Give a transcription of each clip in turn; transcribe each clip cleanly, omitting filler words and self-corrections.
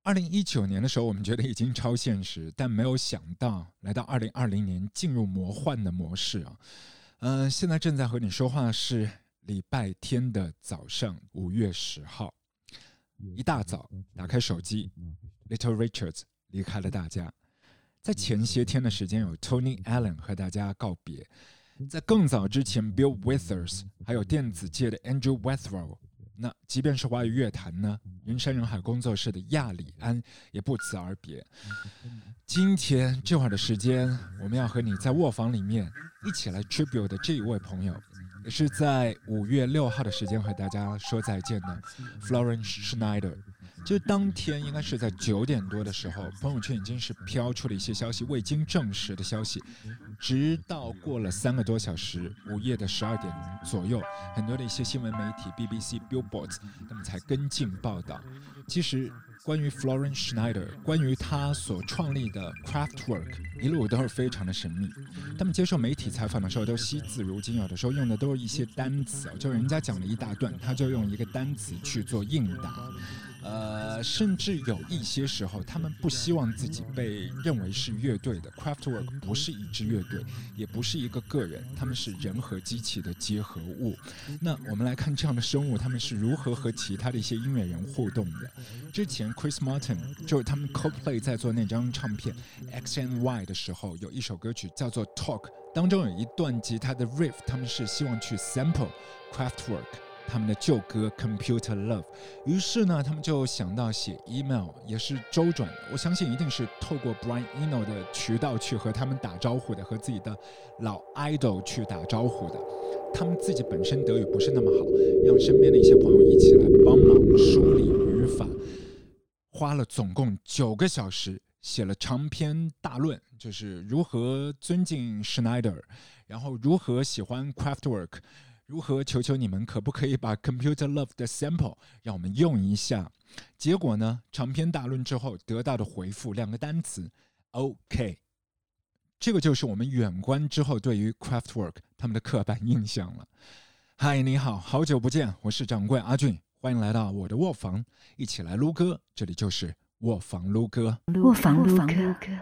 2019年的时候我们觉得已经超现实，但没有想到来到2020年进入魔幻的模式啊。现在正在和你说话是礼拜天的早上5月10号，一大早打开手机 Little Richards 离开了大家。在前些天的时间有 Tony Allen 和大家告别，在更早之前 Bill Withers 还有电子界的 Andrew Weatherall， 那即便是华语乐坛呢，人山人海工作室的亚里安也不辞而别。今天这会儿的时间，我们要和你在卧房里面一起来 tribute 的这一位朋友，也是在5月6号的时间和大家说再见的 Florence Schneider。就当天应该是在9点多的时候，朋友圈已经是飘出了一些消息，未经证实的消息，直到过了3个多小时，午夜的12点左右，很多的一些新闻媒体 BBC、Billboard 他们才跟进报道。其实关于 Florence Schneider， 关于他所创立的 Kraftwerk 一路都是非常的神秘。他们接受媒体采访的时候都惜字如金，有的时候用的都是一些单词，就人家讲了一大段，他就用一个单词去做应答。甚至有一些时候他们不希望自己被认为是乐队的。 Kraftwerk 不是一支乐队，也不是一个个人，他们是人和机器的结合物。那我们来看这样的生物他们是如何和其他的一些音乐人互动的。之前 Chris Martin 就是他们 Coldplay 在做那张唱片 X&Y 的时候，有一首歌曲叫做 Talk， 当中有一段吉他的 riff， 他们是希望去 sample Kraftwerk他们的旧歌 Computer Love。 于是呢他们就想到写 email， 也是周转，我相信一定是透过 Brian Eno 的渠道去和他们打招呼的，和自己的老 idol 去打招呼的。他们自己本身德语不是那么好，让身边的一些朋友一起来帮忙梳理语法，花了总共9个小时写了长篇大论，就是如何尊敬 Schneider， 然后如何喜欢 Kraftwerk，如何求求你们可不可以把 Computer Love 的 sample 让我们用一下。结果呢，长篇大论之后得到的回复2个单词 OK。 这个就是我们远观之后对于 Kraftwerk 他们的刻板印象了。嗨，你好，好久不见，我是掌柜阿俊，欢迎来到我的卧房，一起来撸歌，这里就是卧房撸歌。 卧房撸歌。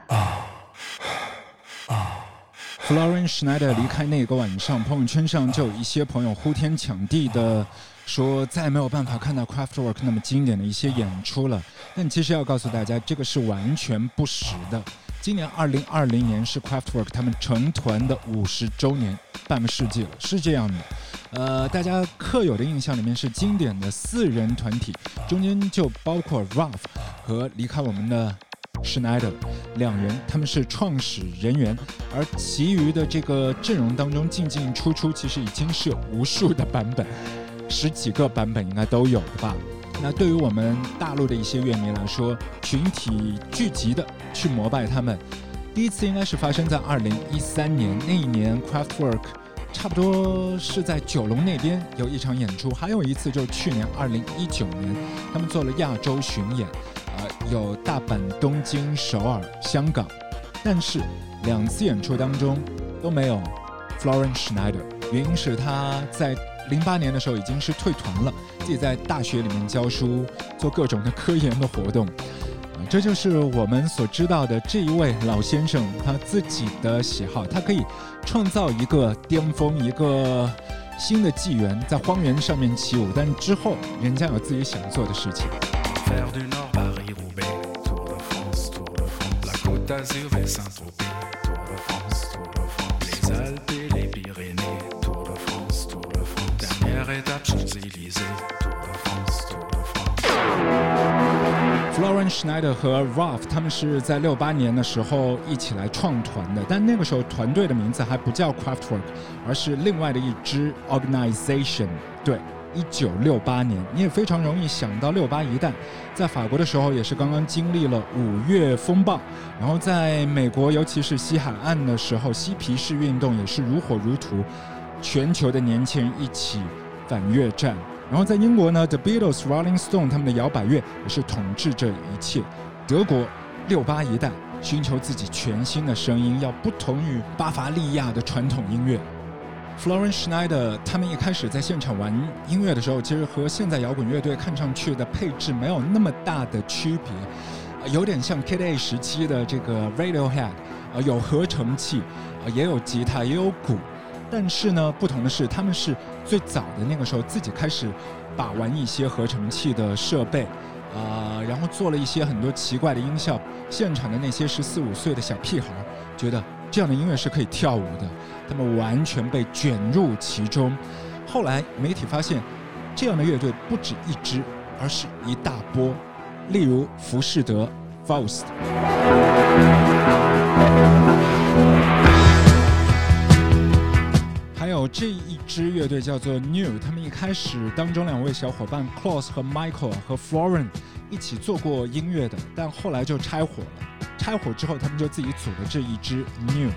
Florence Schneider 离开那个晚上，朋友圈上就有一些朋友呼天抢地的说再没有办法看到 Kraftwerk 那么经典的一些演出了。但其实要告诉大家，这个是完全不实的。今年2020年是 Kraftwerk 他们成团的50周年，半个世纪了，是这样的。大家刻有的印象里面是经典的4人团体，中间就包括 Ralph 和离开我们的Schneider 2人，他们是创始人员，而其余的这个阵容当中进进出出其实已经是有无数的版本，10几个版本应该都有的吧。那对于我们大陆的一些乐迷来说，群体聚集的去膜拜他们，第一次应该是发生在2013年，那一年 Kraftwerk 差不多是在九龙那边有一场演出，还有一次就是去年2019年他们做了亚洲巡演，有大阪、东京、首尔、香港，但是2次演出当中都没有 Florence Schneider， 原因是他在08年的时候已经是退团了，自己在大学里面教书，做各种的科研的活动。这就是我们所知道的这一位老先生他自己的喜好，他可以创造一个巅峰，一个新的纪元，在荒原上面起舞，但之后人家有自己想做的事情。 d'Azur vers Saint-Tropez, Tour de France, Tour de France, les Alpes et les Pyrénées, Tour de France, Tour de France, dernière étape Champs-Élysées, Tour de France, Tour de France. Florence Schneider 和 Ralph 他们是在68年的时候一起来创团的，但那个时候团队的名字还不叫 Kraftwerk， 而是另外的一支 organization。 对，1968年，你也非常容易想到68一代，在法国的时候也是刚刚经历了5月风暴，然后在美国尤其是西海岸的时候，嬉皮士运动也是如火如荼，全球的年轻人一起反越战。然后在英国呢 The Beatles、Rolling Stone 他们的摇摆乐也是统治这一切。德国68一代寻求自己全新的声音，要不同于巴伐利亚的传统音乐。 Florence Schneider 他们一开始在现场玩音乐的时候，其实和现在摇滚乐队看上去的配置没有那么大的区别，有点像 Kid A 时期的这个 Radiohead，有合成器，也有吉他，也有鼓。但是呢，不同的是，他们是最早的那个时候自己开始把玩一些合成器的设备，然后做了一些很多奇怪的音效。现场的那些14、15岁的小屁孩觉得这样的音乐是可以跳舞的，他们完全被卷入其中。后来媒体发现，这样的乐队不止一支，而是一大波。例如浮士德 Faust， 还有这一支乐队叫做 New， 他们一开始当中2位小伙伴 Klaus 和 Michael 和 Florence 一起做过音乐的，但后来就拆伙了。拆伙之后，他们就自己组了这一支 New。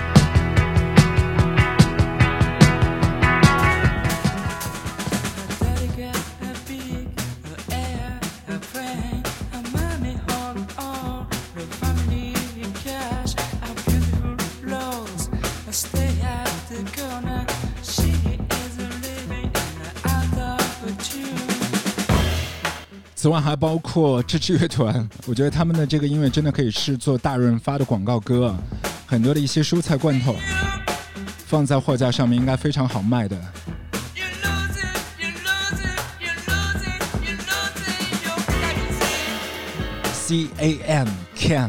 此外还包括这支乐团，我觉得他们的这个音乐真的可以是做大润发的广告歌，很多的一些蔬菜罐头放在货架上面应该非常好卖的。CAN Can。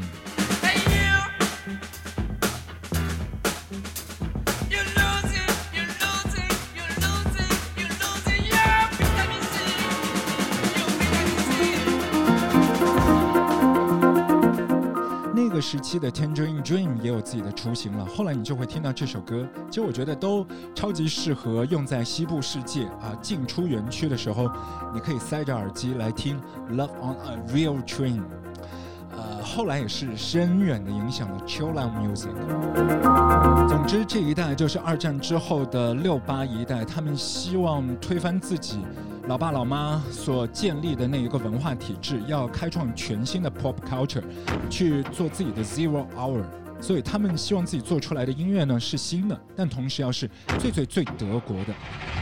那个时期的 Tangerine Dream 也有自己的雏形了，后来你就会听到这首歌，其实我觉得都超级适合用在西部世界进出园区的时候，你可以塞着耳机来听 Love on a Real Train。后来也是深远的影响了 Chill Out Music。总之，这一代就是2战之后的68一代，他们希望推翻自己老爸老妈所建立的那一个文化体制，要开创全新的 pop culture， 去做自己的 Zero Hour。所以他们希望自己做出来的音乐呢是新的，但同时要是最德国的。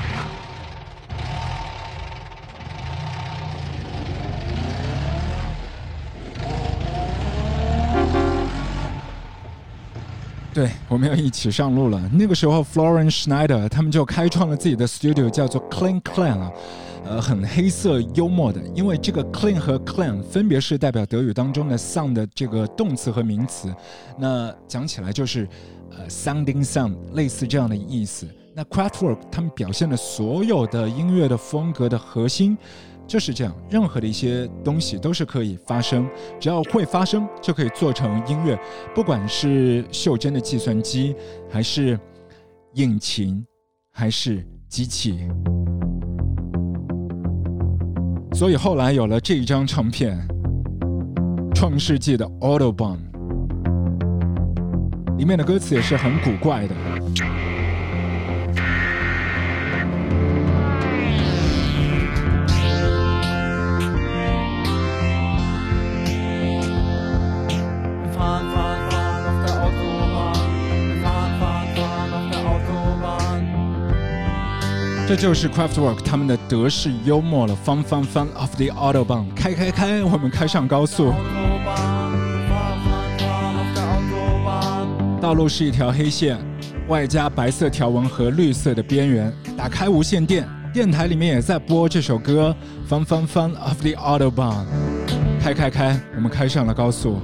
对，我们要一起上路了。那个时候 Florence Schneider 他们就开创了自己的 studio， 叫做 Clean Clan 很黑色幽默的，因为这个 Clean 和 Clan 分别是代表德语当中的 sound 的这个动词和名词，那讲起来就是sounding sound， 类似这样的意思。那 Kraftwerk 他们表现的所有的音乐的风格的核心就是这样，任何的一些东西都是可以发生，只要会发生就可以做成音乐，不管是袖珍的计算机，还是引擎，还是机器。所以后来有了这一张唱片，创世纪的 Autobahn， 里面的歌词也是很古怪的。这就是 Kraftwerk 他们的德式幽默了 ，Fun Fun Fun of the Autobahn， 开，我们开上高速。道路是一条黑线，外加白色条纹和绿色的边缘。打开无线电，电台里面也在播这首歌 ，Fun Fun Fun of the Autobahn， 开，我们开上了高速。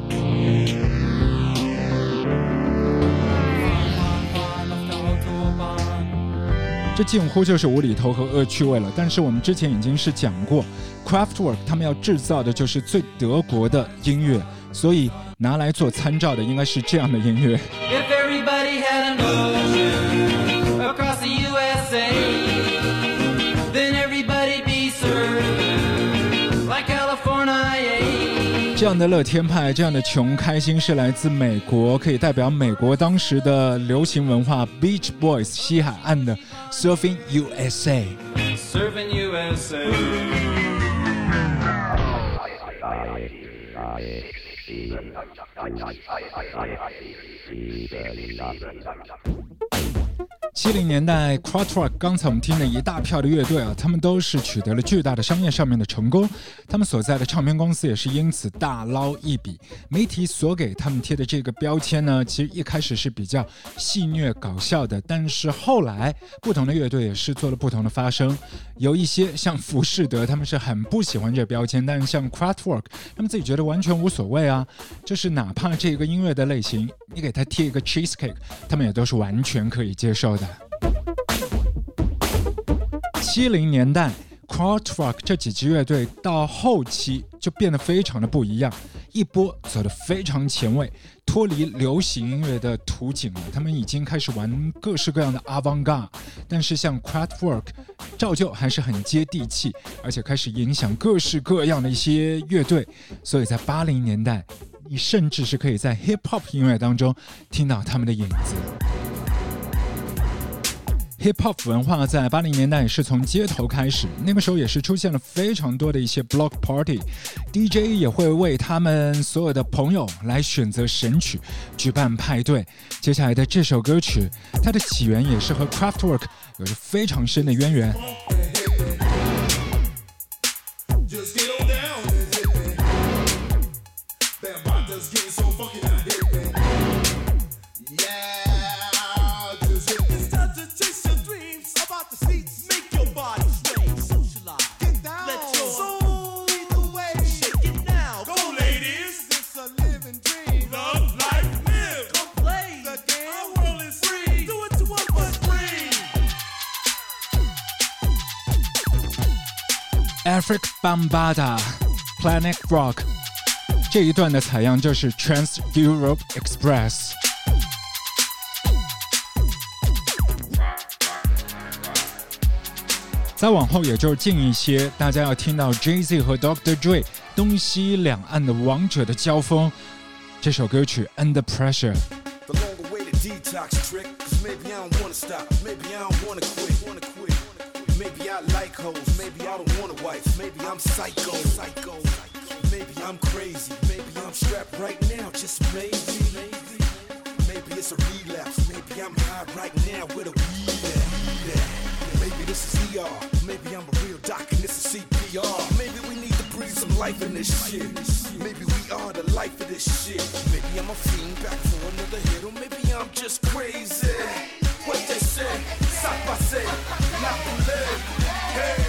这近乎就是无厘头和恶趣味了，但是我们之前已经是讲过 Kraftwerk 他们要制造的就是最德国的音乐，所以拿来做参照的应该是这样的音乐。这样的乐天派，这样的穷开心是来自美国，可以代表美国当时的流行文化 Beach Boys 西海岸的 Surfing USA。 Surfing USA。 70年代 Krautrock 刚才我们听的一大票的乐队啊，他们都是取得了巨大的商业上面的成功，他们所在的唱片公司也是因此大捞一笔。媒体所给他们贴的这个标签呢，其实一开始是比较戏谑搞笑的，但是后来不同的乐队也是做了不同的发声。有一些像浮士德，他们是很不喜欢这个标签，但是像 Krautrock 他们自己觉得完全无所谓啊，就是哪怕这个音乐的类型你给他贴一个 cheesecake， 他们也都是完全可以接受的。70年代 Krautrock 这几支乐队到后期就变得非常的不一样，一波走得非常前卫，脱离流行音乐的途径了。他们已经开始玩各式各样的 avant-garde， 但是像 Krautrock 照旧还是很接地气，而且开始影响各式各样的一些乐队。所以在80年代，你甚至是可以在 hip-hop 音乐当中听到他们的影子。Hip-hop 文化在80年代也是从街头开始，那个时候也是出现了非常多的一些 block party，DJ 也会为他们所有的朋友来选择神曲，举办派对。接下来的这首歌曲，它的起源也是和 Kraftwerk 有着非常深的渊源。Afric Bambaataa Planet Rock 这一段的采样就是 Trans Europe Express。再往后也就是近一些，大家要听到 Jay-Z 和 Dr. Dre 东西两岸的王者的交锋。这首歌曲 Under Pressure。The longer way to detox trick, 'cause maybe I don't wanna stop, maybe I don't wanna quit. Maybe I like hoes, maybe I don't want a wife, maybe I'm psycho. Maybe I'm crazy, maybe I'm strapped right now, just maybe. Maybe it's a relapse, maybe I'm high right now with a weed at. Maybe this is ER, maybe I'm a real doc and this is CPR. Maybe we need to breathe some life in this shit. Maybe we are the life of this shit. Maybe I'm a fiend back for another hit, or maybe I'm just crazy. What they say, ça passe, la boulette, hey.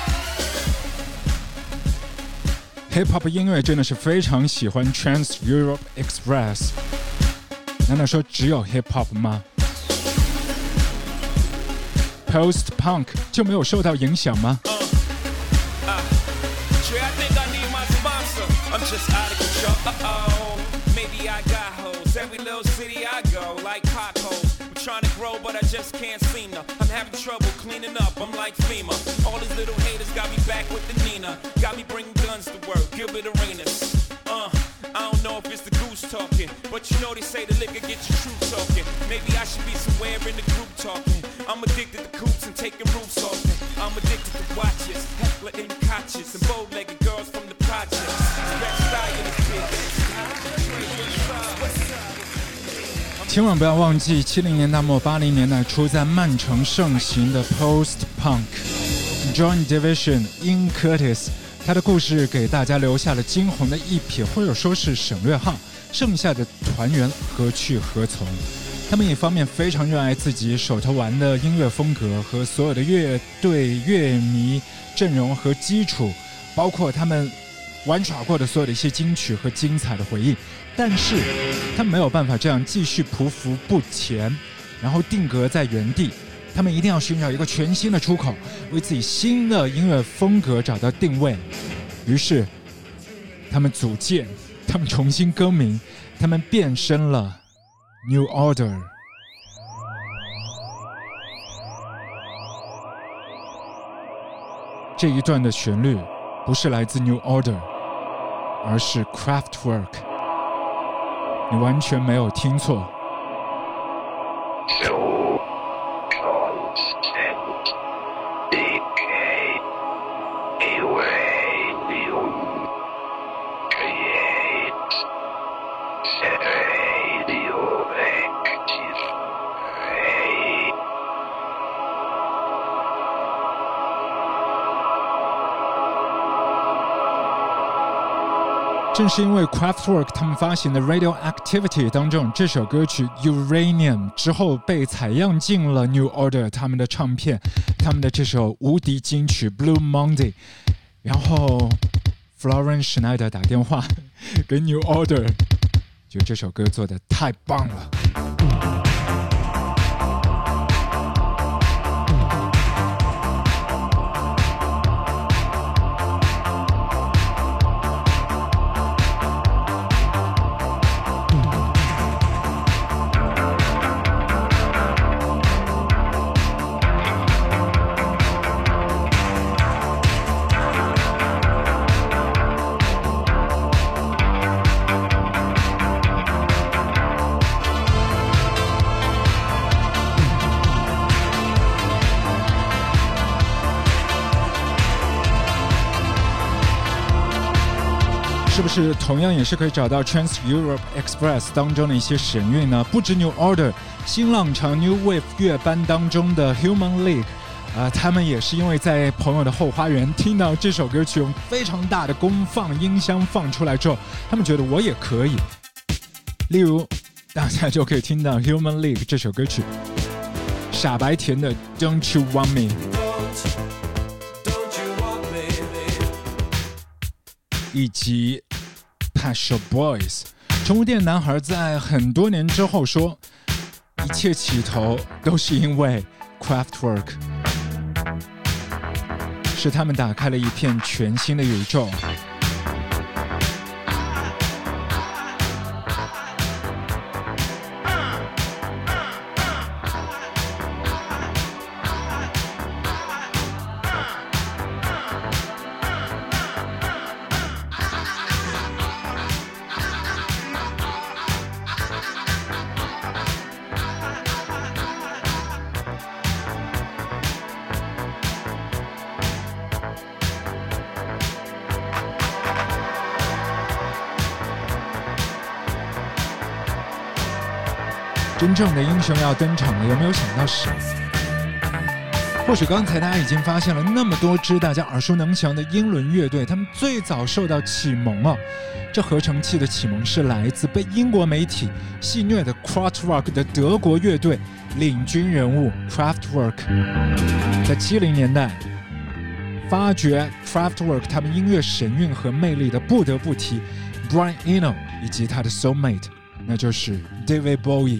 Hip-hop 音乐真的是非常喜欢 Trans Europe Express。难道说只有 Hip-hop 吗？ Post-punk 就没有受到影响吗？ Every little city I go, like potholes. I'm trying to grow, but I just can't seem to. I'm having trouble cleaning up, I'm like FEMA. All these little haters got me back with the Nina. Got me bringing guns to work, Gilbert Arenas. I don't know if it's the goose talking, but you know they say the liquor gets you true talking. Maybe I should be somewhere in the group talking. I'm addicted to coops and taking roofs off me. I'm addicted to watches, heckler and catches, and bow-legged girls from the projects. Best style in the kid. 千万不要忘记70年代末80年代初在曼城盛行的 Post-punk。 Joy Division、Ian Curtis 他的故事给大家留下了惊鸿的一瞥，或者说是省略号，剩下的团员何去何从？他们一方面非常热爱自己手头玩的音乐风格和所有的乐队乐迷阵容和基础，包括他们玩耍过的所有的一些金曲和精彩的回忆，但是他们没有办法这样继续匍匐不前，然后定格在原地。他们一定要寻找一个全新的出口，为自己新的音乐风格找到定位。于是他们组建，他们重新更名，他们变身了 New Order。 这一段的旋律不是来自 New Order， 而是 Kraftwerk。 你完全没有听错。 正是因为 Kraftwerk 他们发行的 Radioactivity 当中这首歌曲 Uranium 之后被采样进了 New Order 他们的唱片，他们的这首无敌金曲 Blue Monday， 然后 Florence Schneider 打电话给 New Order， 觉得这首歌做得太棒了。是不是同样也是可以找到 Trans Europe Express 当中的一些神韵呢？不止 New Order， 新浪潮 New Wave 乐班当中的 Human League，他们也是因为在朋友的后花园听到这首歌曲用非常大的功放音箱放出来之后，他们觉得我也可以。例如，大家就可以听到 Human League 这首歌曲，傻白甜的 Don't You Want Me。以及 Pet Shop Boys， 宠物店男孩在很多年之后说，一切起头都是因为 Kraftwerk， 是他们打开了一片全新的宇宙。真正的英雄要登场了，有没有想到谁？或许刚才大家已经发现了，那么多支大家耳熟能详的英伦乐队，他们最早受到启蒙啊，这合成器的启蒙是来自被英国媒体戏谑的 Krautrock 的德国乐队领军人物 Kraftwerk。在70年代，发掘 Kraftwerk 他们音乐神韵和魅力的，不得不提 Brian Eno 以及他的 soulmate， 那就是 David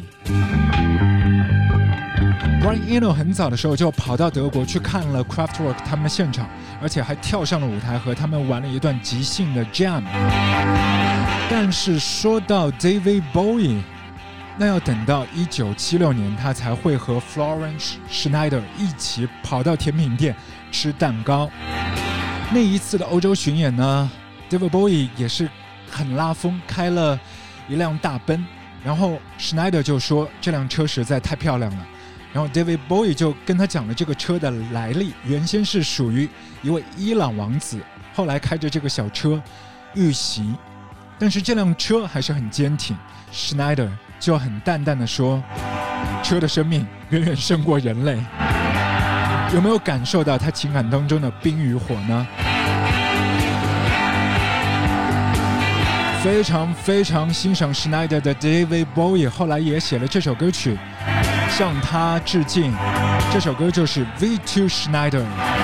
Bowie。Brian Eno 很早的时候就跑到德国去看了 Kraftwerk 他们的现场，而且还跳上了舞台和他们玩了一段即兴的 jam。 但是说到 David Bowie， 那要等到1976年他才会和 Florence Schneider 一起跑到甜品店吃蛋糕。那一次的欧洲巡演呢， David Bowie 也是很拉风，开了一辆大奔，然后 Schneider 就说这辆车实在太漂亮了，然后 David Bowie 就跟他讲了这个车的来历，原先是属于一位伊朗王子，后来开着这个小车遇袭，但是这辆车还是很坚挺。 Schneider 就很淡淡的说，车的生命远远胜过人类。有没有感受到他情感当中的冰与火呢？非常非常欣赏 Schneider 的 David Bowie 后来也写了这首歌曲向他致敬，这首歌就是 V2 Schneider。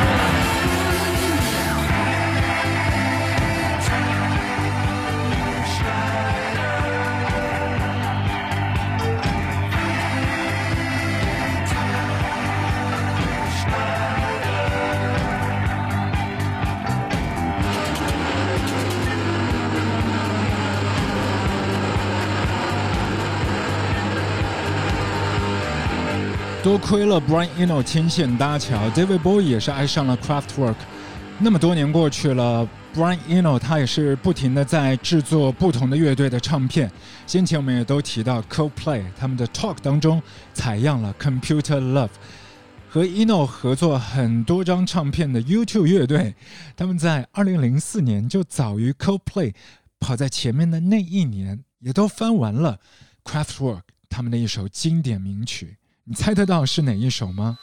多亏了 Brian Eno 牵线搭桥， David Bowie 也是爱上了 Kraftwerk。 那么多年过去了， Brian Eno 他也是不停的在制作不同的乐队的唱片。先前我们也都提到 Coldplay 他们的 Talk 当中采样了 Computer Love， 和 Eno 合作很多张唱片的 U2 乐队，他们在2004年就早于 Coldplay 跑在前面的那一年，也都翻完了 Kraftwerk 他们的一首经典名曲。你猜得到是哪一首吗？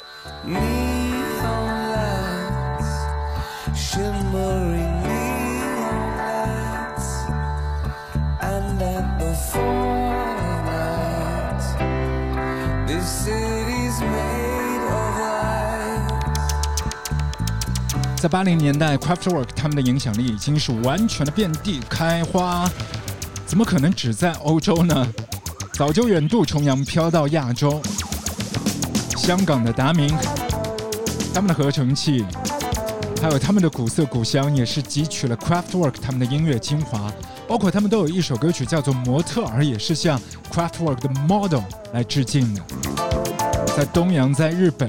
Neon lights, shimmering neon lights. land at the four lights. This city's made of lights. 在80年代 Kraftwerk 他们的影响力已经是完全的遍地开花，怎么可能只在欧洲呢？早就远渡重洋飘到亚洲。香港的达明，他们的合成器还有他们的古色古香，也是汲取了 Kraftwerk 他们的音乐精华，包括他们都有一首歌曲叫做《模特儿》，也是向 Kraftwerk 的 Model 来致敬的。在东洋，在日本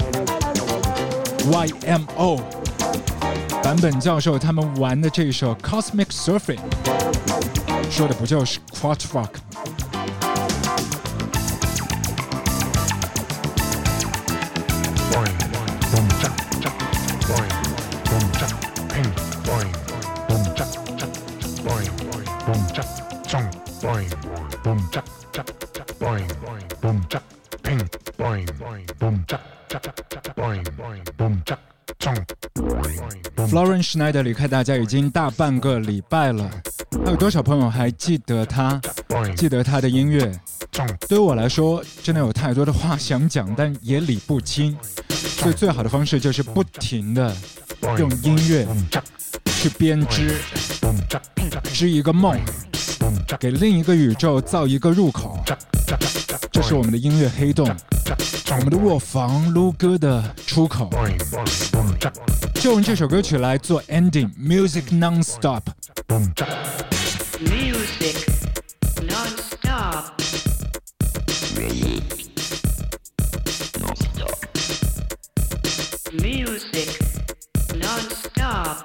YMO 坂本教授他们玩的这首 Cosmic Surfing， 说的不就是 Kraftwerk 吗？Florence Schneider 离开大家已经大半个礼拜了，还有多少朋友还记得他？记得他的音乐？对于我来说，真的有太多的话想讲，但也理不清，所以最好的方式就是不停的用音乐去编织一个梦，给另一个宇宙造一个入口。这是我们的音乐黑洞，我们的卧房撸歌的出口。就用这首歌曲来做 ending， Music Non-Stop。 Music Non-Stop。 Music Non-Stop。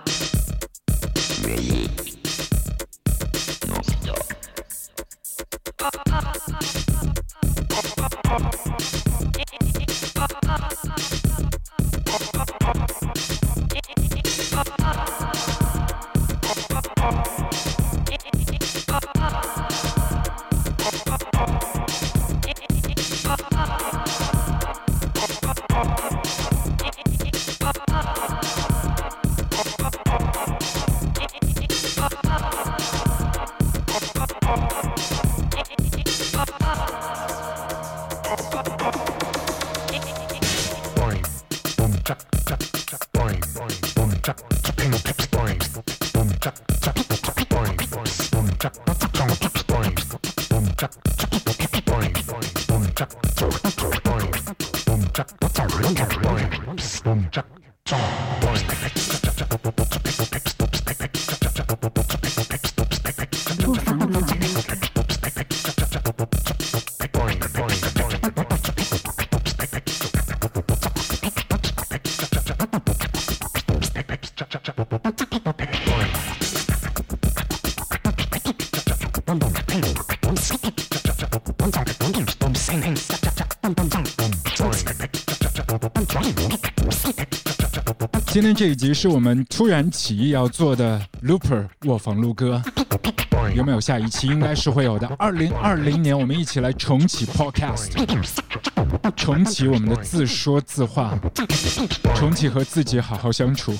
今天这一集是我们突然起意要做的 Looper 卧房录歌，有没有下一期？应该是会有的。2020年我们一起来重启 Podcast， 重启我们的自说自话，重启和自己好好相处。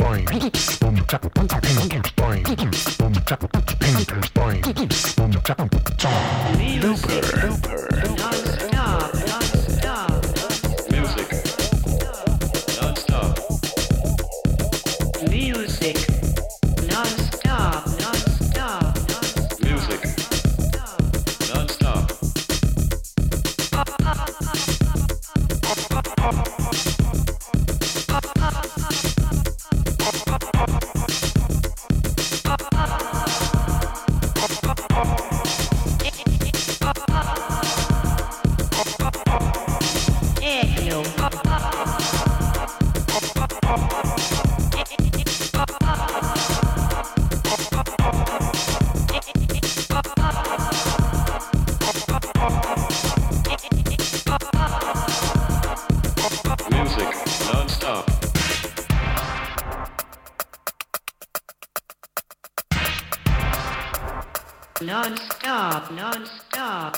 Non-stop, non-stop,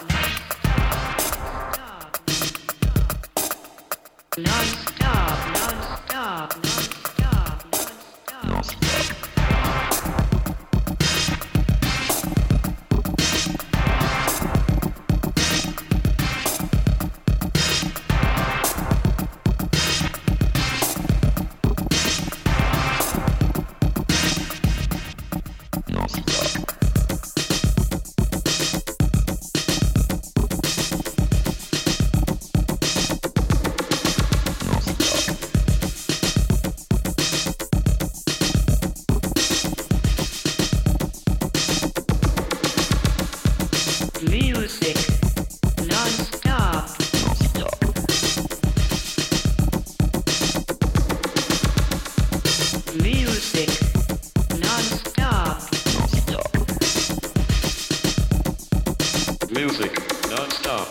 non-stop, non-stop, non-stop, non-stop, non-stop. Music non-stop. Music non-stop. Music non-stop.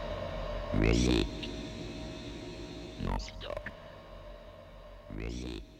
Non-stop.